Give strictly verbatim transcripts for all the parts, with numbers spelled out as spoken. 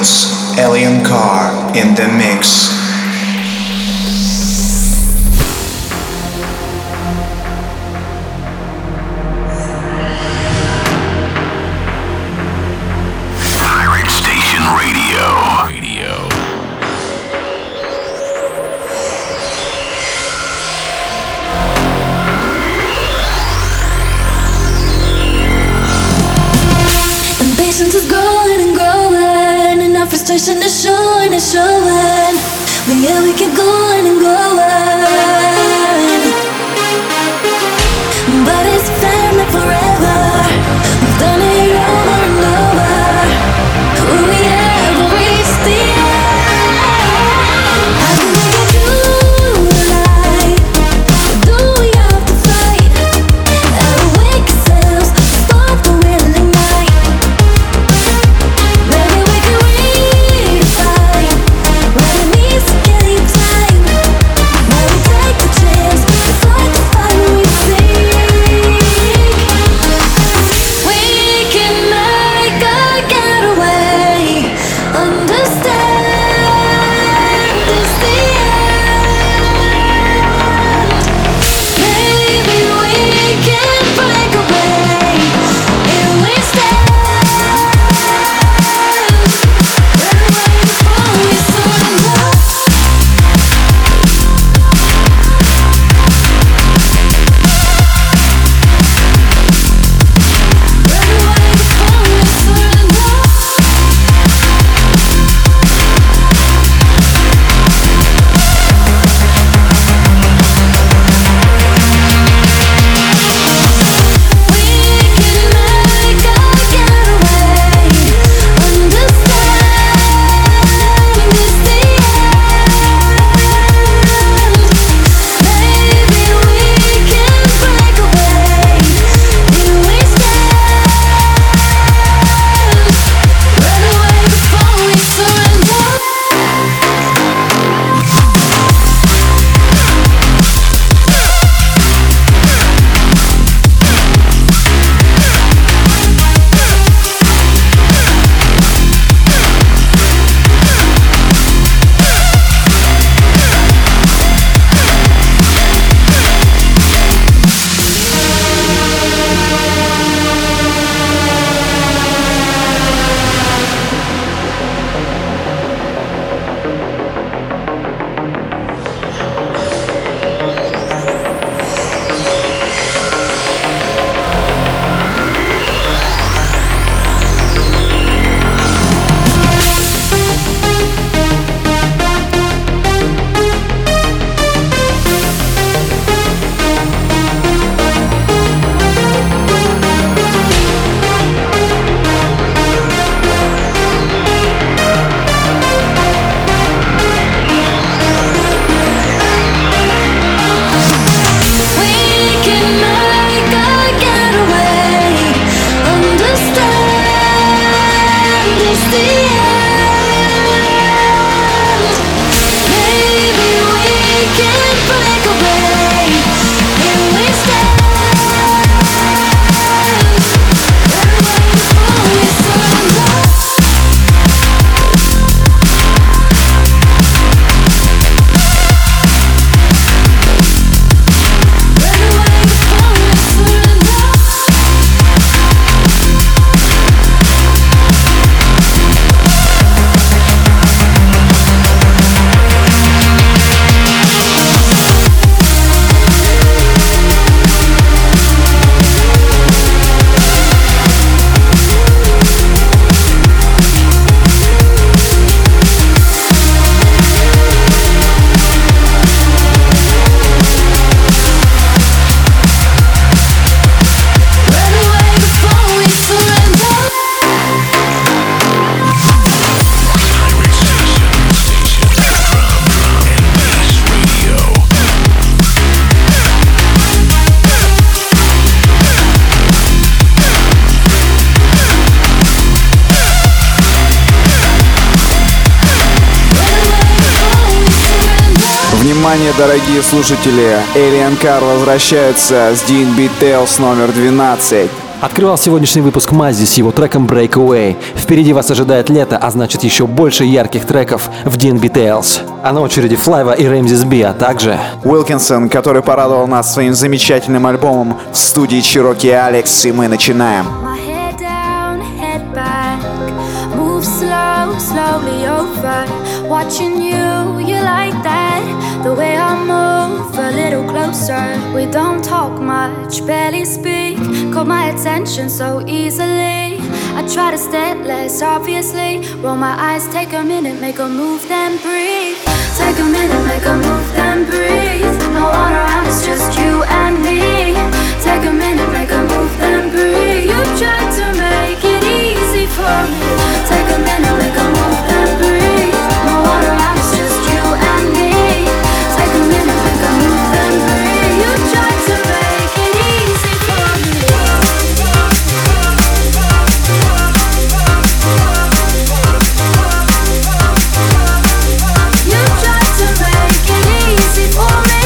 Details, Alien Car in the mix. Frustration is showing, is showing. But yeah, we keep going and going. But it's family forever. We've done it over and over. Will we ever reach the end? How do we get through the night? Or do we have to fight? Outwake ourselves, stop the willing night. Maybe we can redefine what it means to get time. Now we take the chance to fight the fight we seek. We can make a getaway. Understand it's the end. Maybe we can break away if we stand. Run away before we surrender. Run away before we surrender. We can make a getaway. Understand it's the end. Maybe we can break away if we stand. Run away before we surrender. We can make a getaway. Understand it's the end. Maybe we can break away if we stand. Run away before we surrender. Run away before we surrender. Run away before we surrender. Внимание, дорогие слушатели! Alien Car возвращается с ди энд би Tales номер двенадцать. Открывал сегодняшний выпуск Маззи с его треком Breakaway. Впереди вас ожидает лето, а значит еще больше ярких треков в ди энд би Tales. А на очереди Флайва и Рэмзис Би, а также Уилкинсон, который порадовал нас своим замечательным альбомом в студии Чироки и Алекс, и мы начинаем. Slowly over, watching you, you like that. The way I move a little closer. We don't talk much, barely speak. Caught my attention so easily. I try to stay less obviously. Roll my eyes, take a minute, make a move, then breathe. Take a minute, make a move, then breathe. No one around, it's just you and me. Take a minute, make a move, then breathe. You tried to make it easy for me. Take a minute, make a move, then breathe. No one around, it's just you and me. Take a minute, make a move, then breathe. You tried to make it easy for me. You tried to make it easy for me.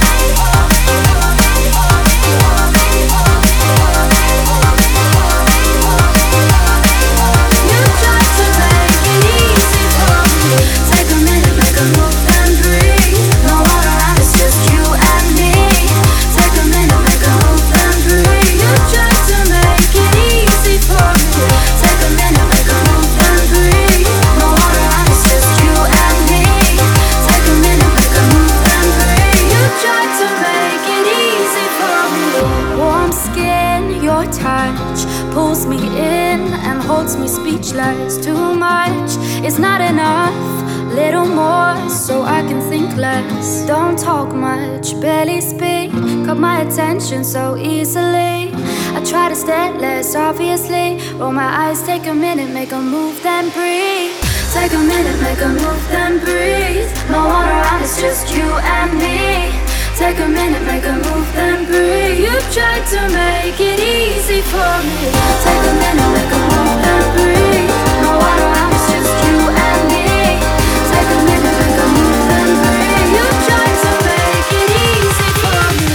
Pulls me in and holds me speechless. Too much is not enough. Little more so I can think less. Don't talk much, barely speak. Got my attention so easily. I try to stay less obviously. Roll my eyes, take a minute, make a move, then breathe. Take a minute, make a move, then breathe. No one around, it's just you and me. Take a minute, make a move, then breathe. You tried to make it easy for me. Take a minute, make a move, then breathe. No one around, it's just you and me. Take a minute, make a move, then breathe. You tried to make it easy for me.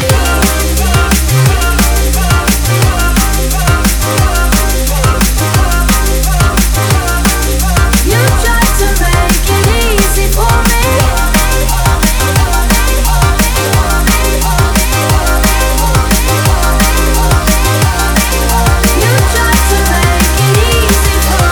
You tried to make it easy for me. You tried to make it easy for me.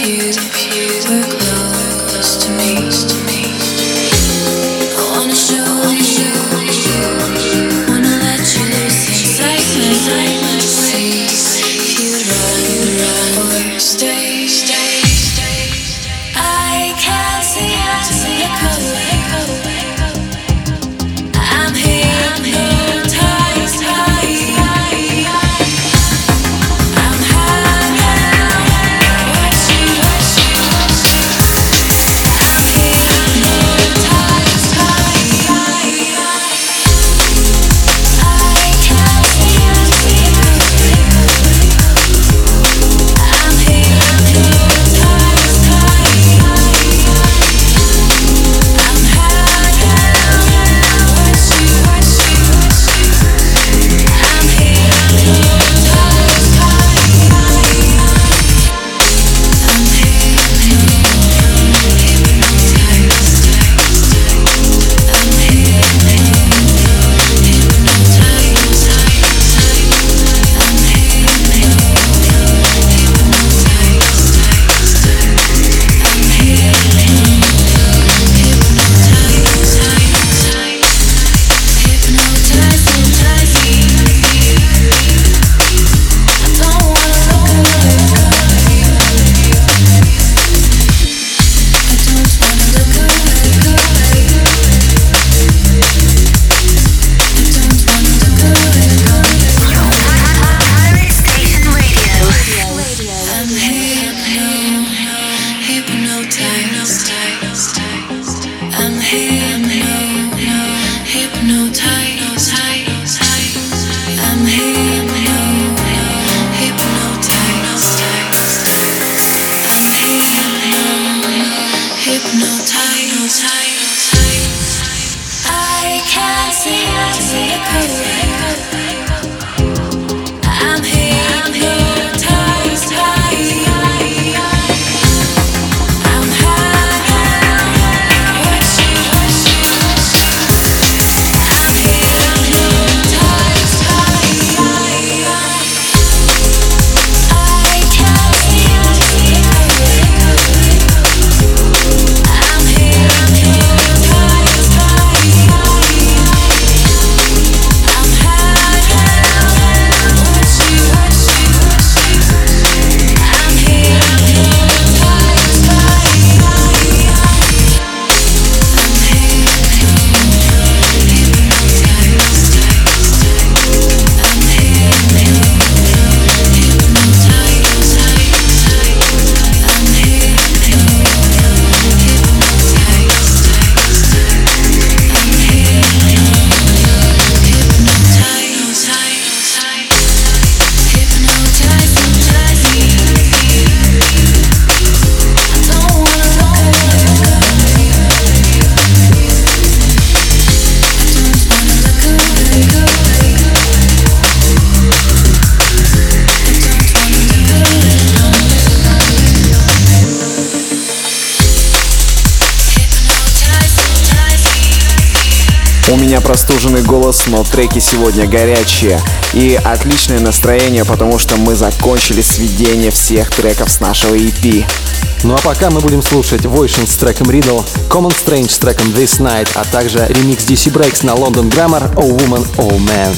У меня простуженный голос, но треки сегодня горячие. И отличное настроение, потому что мы закончили сведение всех треков с нашего и пи. Ну а пока мы будем слушать Voition с треком Riddle, Common Strange с треком This Night, а также ремикс ди си Breaks на London Grammar Oh Woman, Oh Man.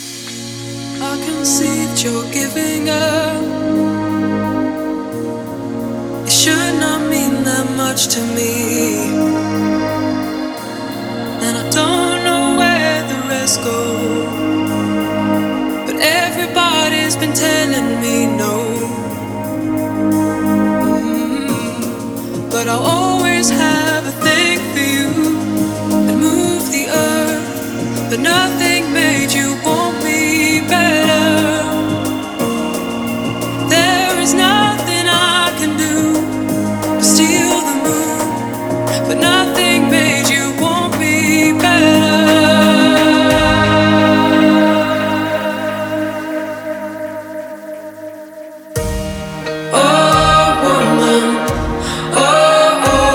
To me, and I don't know where the rest go, but everybody's been telling me no. Mm-hmm. But I'll always have a thing for you and move the earth, but nothing made you want me better. There is nothing I can do but steal the moon, but nothing made you want me better. Oh woman, oh, oh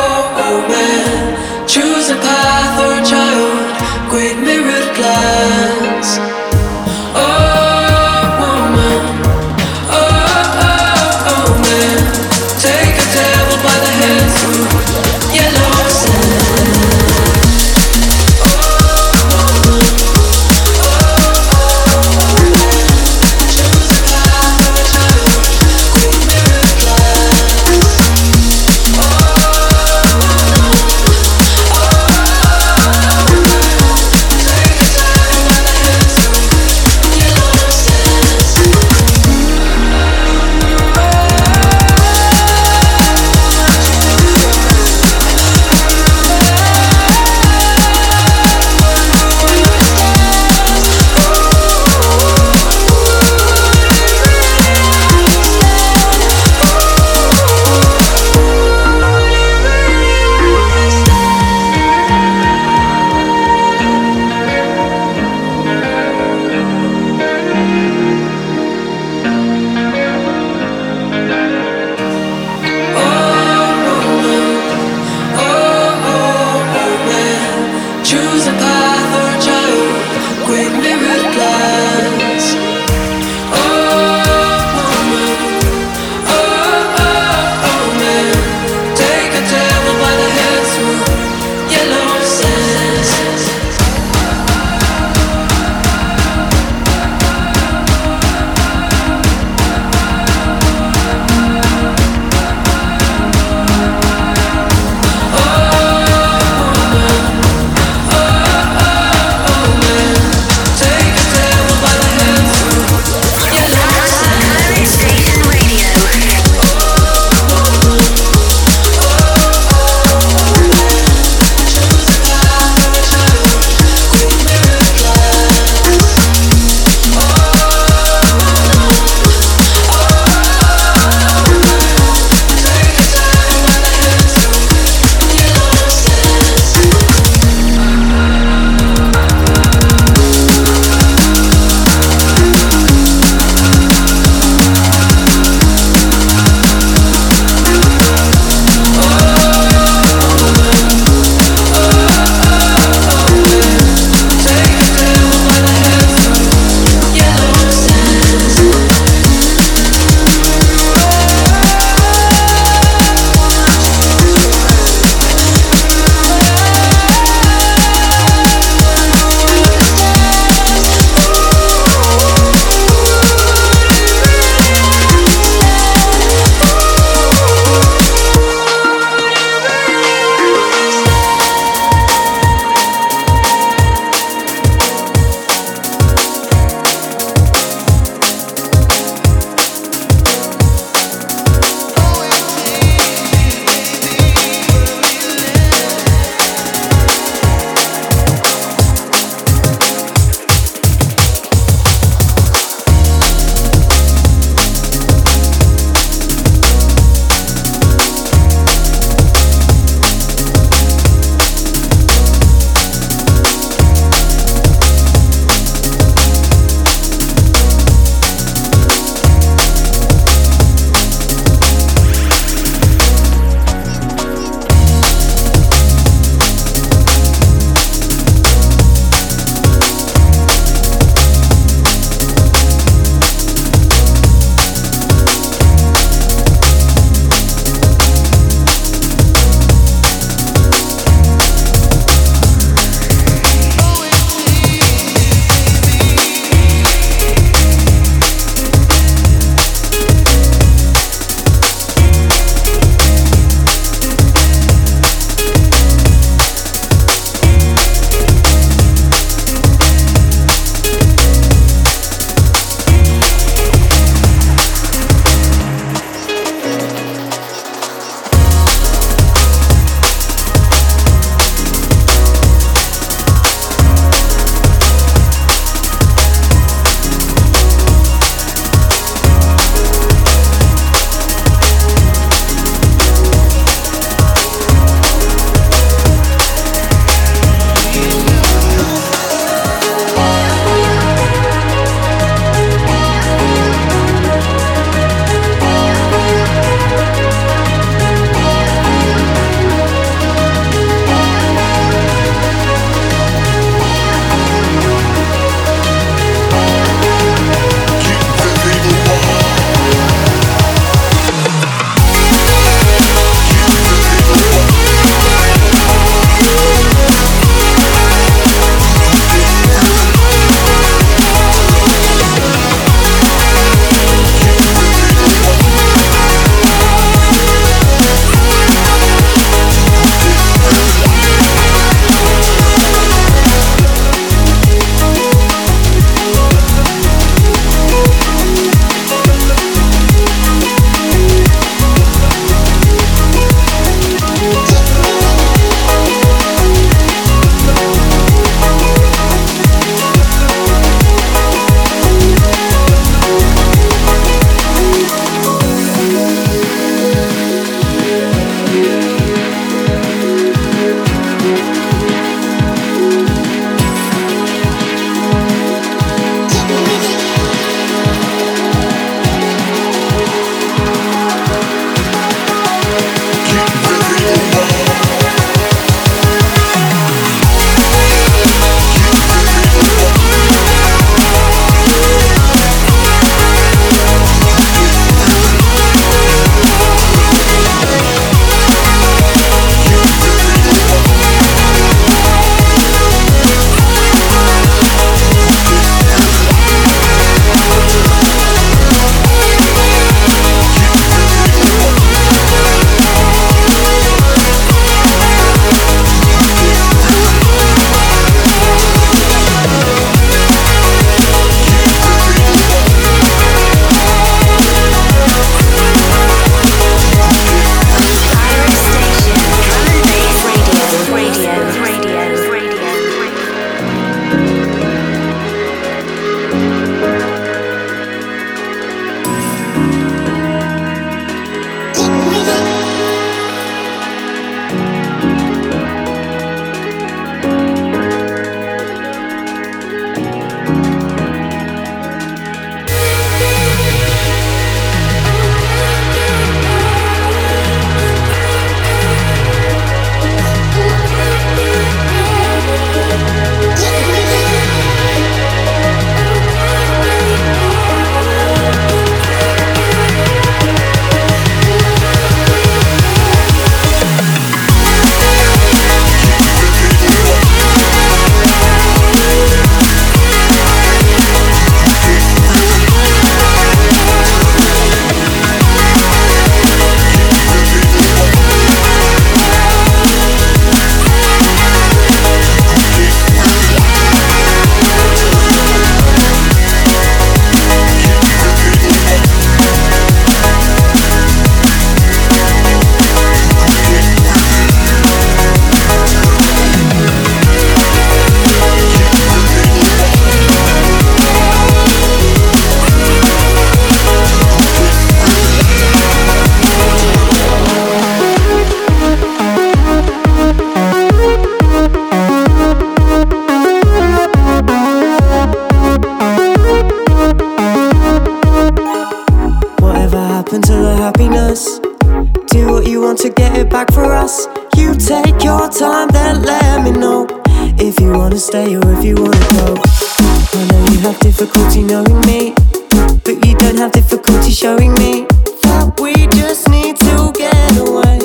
get it back for us. You take your time, then let me know if you wanna stay or if you wanna go. I know you have difficulty knowing me, but you don't have difficulty showing me that we just need to get away.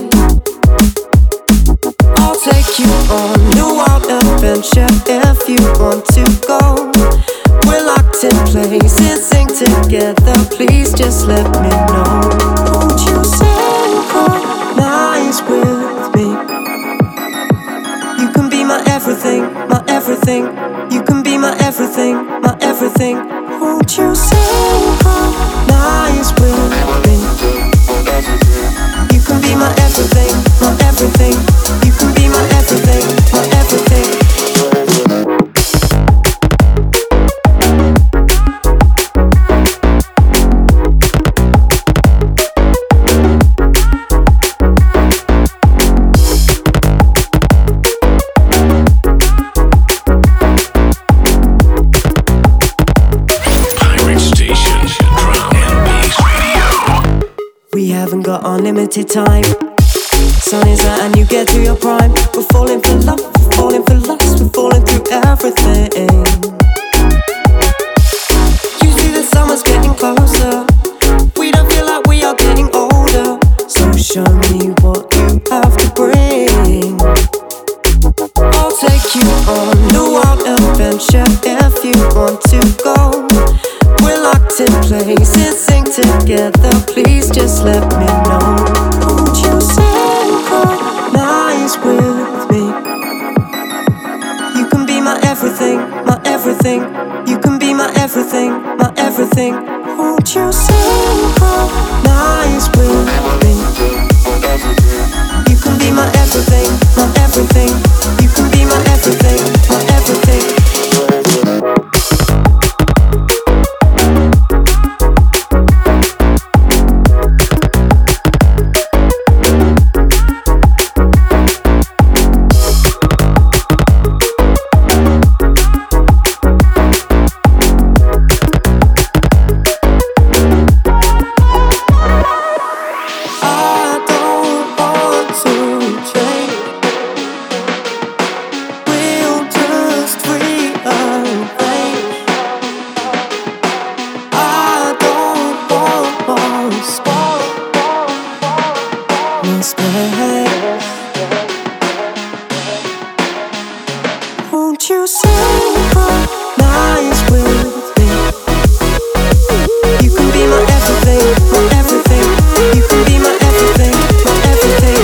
I'll take you on a wild adventure if you want to go. We're locked in places, sing together, please just let me know. Won't you synchronize with me? You can be my everything, my everything. You can be my everything, my everything. Won't you synchronize with me? You can be my everything, my everything. You can be my everything, my everything. Got unlimited time. Sun is out and you get to your prime. We're falling for love, we're falling for lust, we're falling through everything. You see the summer's getting closer. We don't feel like we are getting older. So show me what you have to bring. I'll take you on a wild adventure if you want to go. We're locked in places, sing together, please just let me know. Won't you synchronize with me? You can be my everything, my everything. You can be my everything, my everything. Won't you synchronize with me? You can be my everything, my everything. You can be my everything, my everything. Won't you synchronize with me? You can be my everything, my everything. You can be my everything, my everything.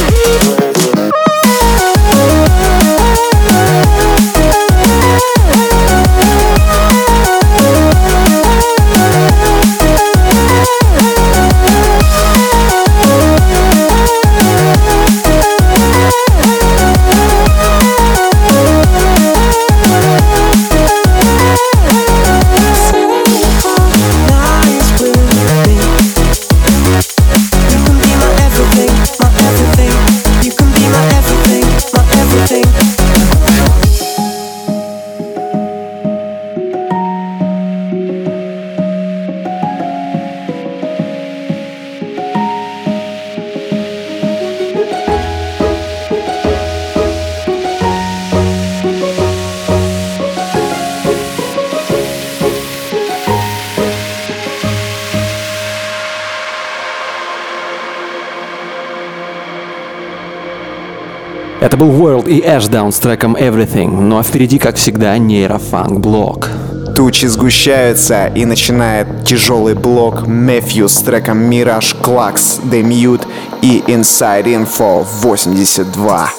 Это был World и Ashdown с треком Everything, ну а впереди, как всегда, нейрофанк-блок. Тучи сгущаются и начинает тяжелый блок Matthew с треком Mirage Clax, The Mute и Inside Info восемьдесят два.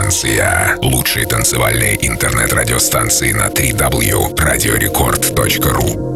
Радиостанция. Лучшие танцевальные интернет-радиостанции на дабл ю дабл ю дабл ю точка радиорекорд точка ру.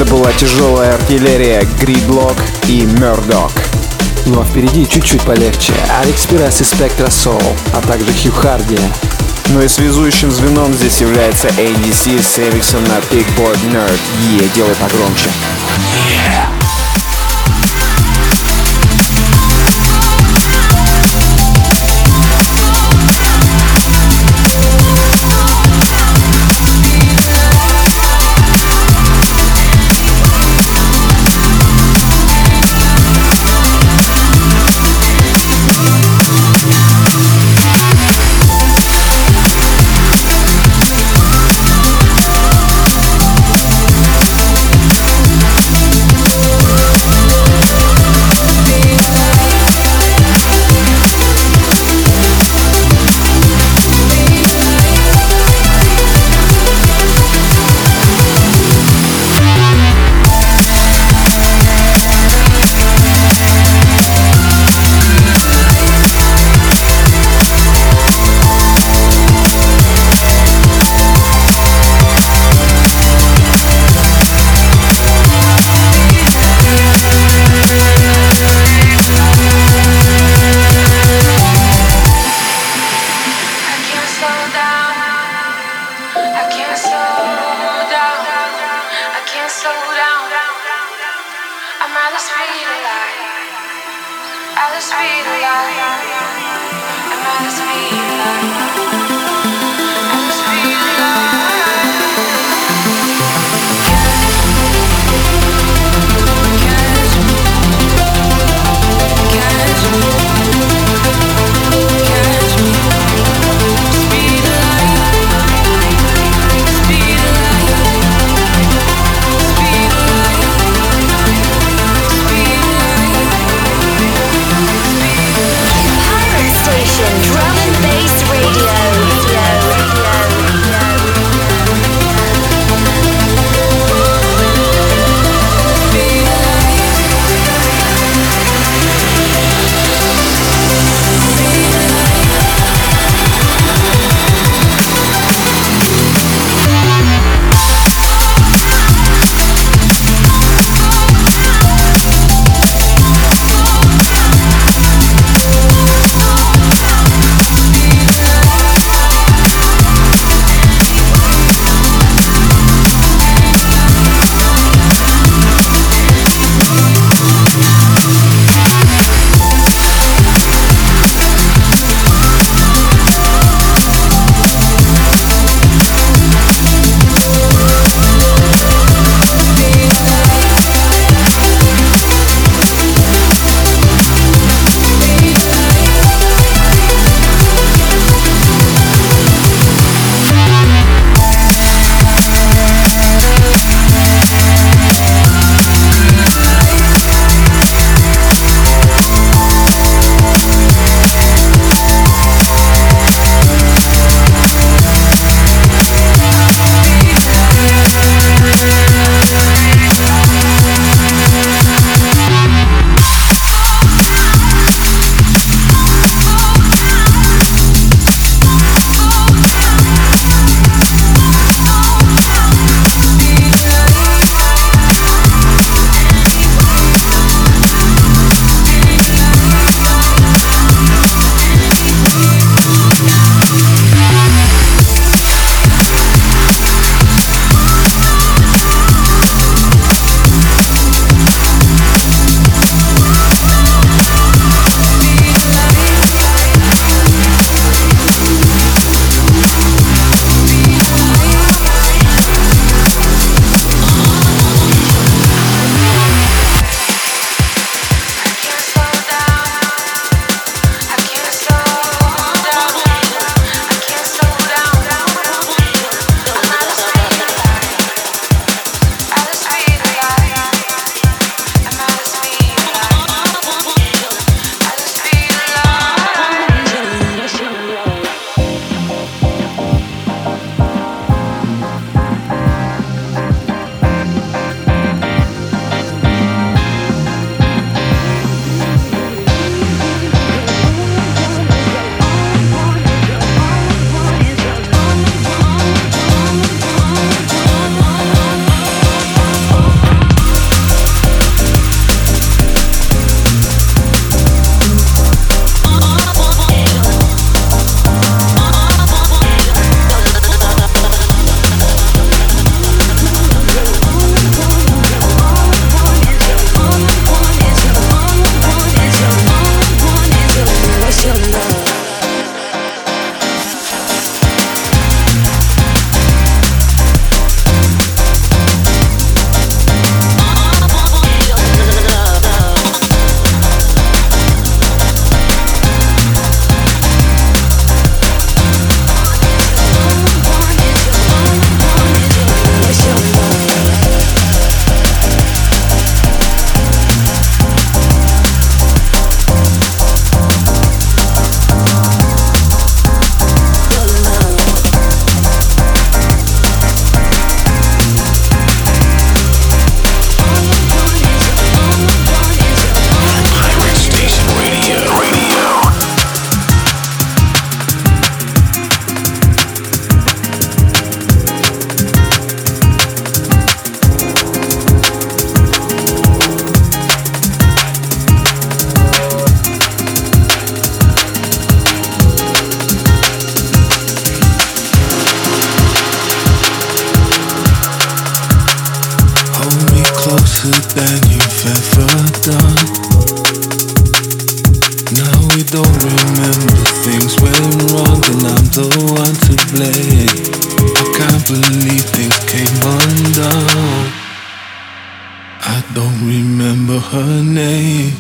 Это была тяжелая артиллерия Gridlock и Murdoch. Ну а впереди чуть-чуть полегче. Алекс Пирас и Spectra Soul, а также Хью Харди. Ну и связующим звеном здесь является эй ди си с ремиксом на Big Board Nerd. Е, делай погромче. Yeah. Drum and Bass Radio. don't remember things went wrong, and I'm the one to blame. I can't believe things came undone. I don't remember her name.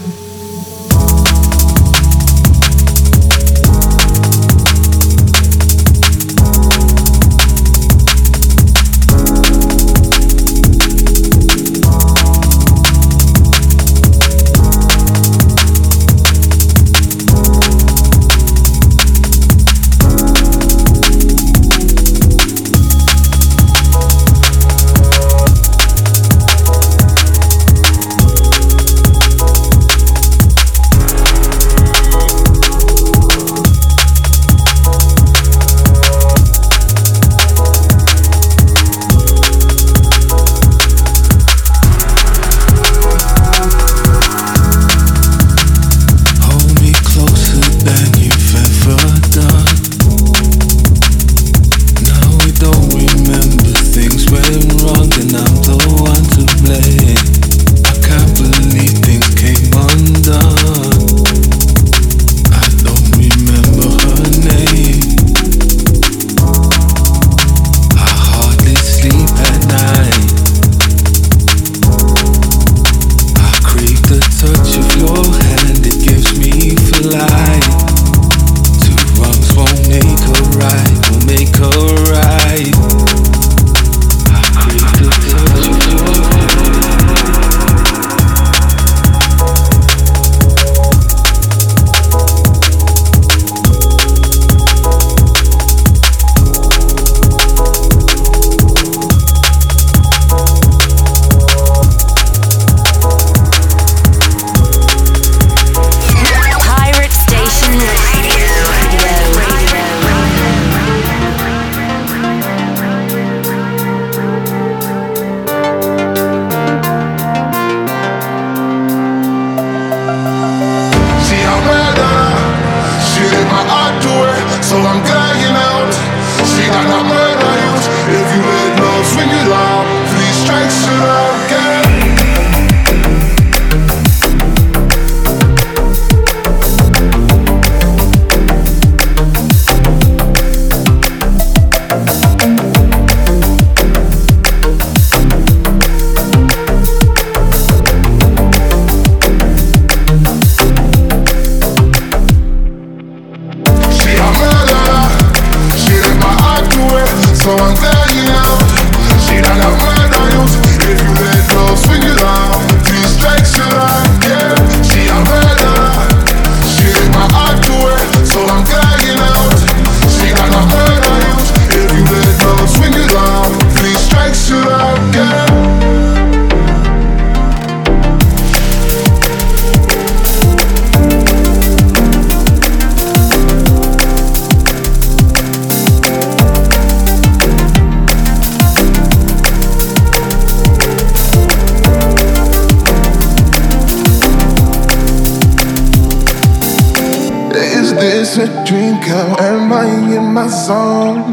Is a dream, girl? Am I in my zone?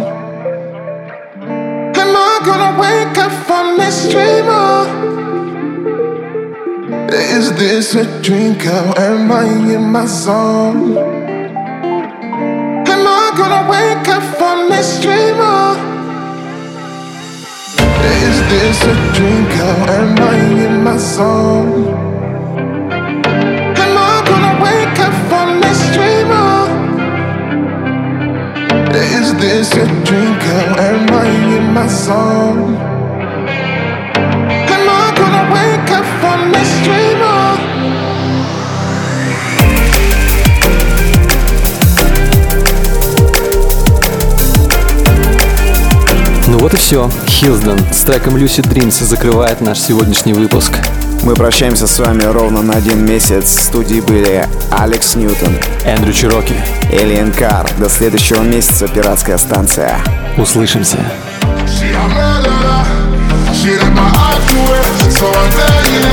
Am I gonna wake up from this dream? Or is this a dream, girl? Am I in my zone? Am I gonna wake up from this dream? Or is this a dream, girl? Am I in my zone? Am I gonna wake up from this dream? Or is this a dream, girl? Am I in my zone? Am I gonna wake up from this dream? Or ну вот и все. Хилсден с треком Lucid Dreams закрывает наш сегодняшний выпуск. Мы прощаемся с вами ровно на один месяц. В студии были Алекс Ньютон, Эндрю Чироки, Alien Car. До следующего месяца, пиратская станция. Услышимся. she a murderer, she let my heart do it, so I'm begging.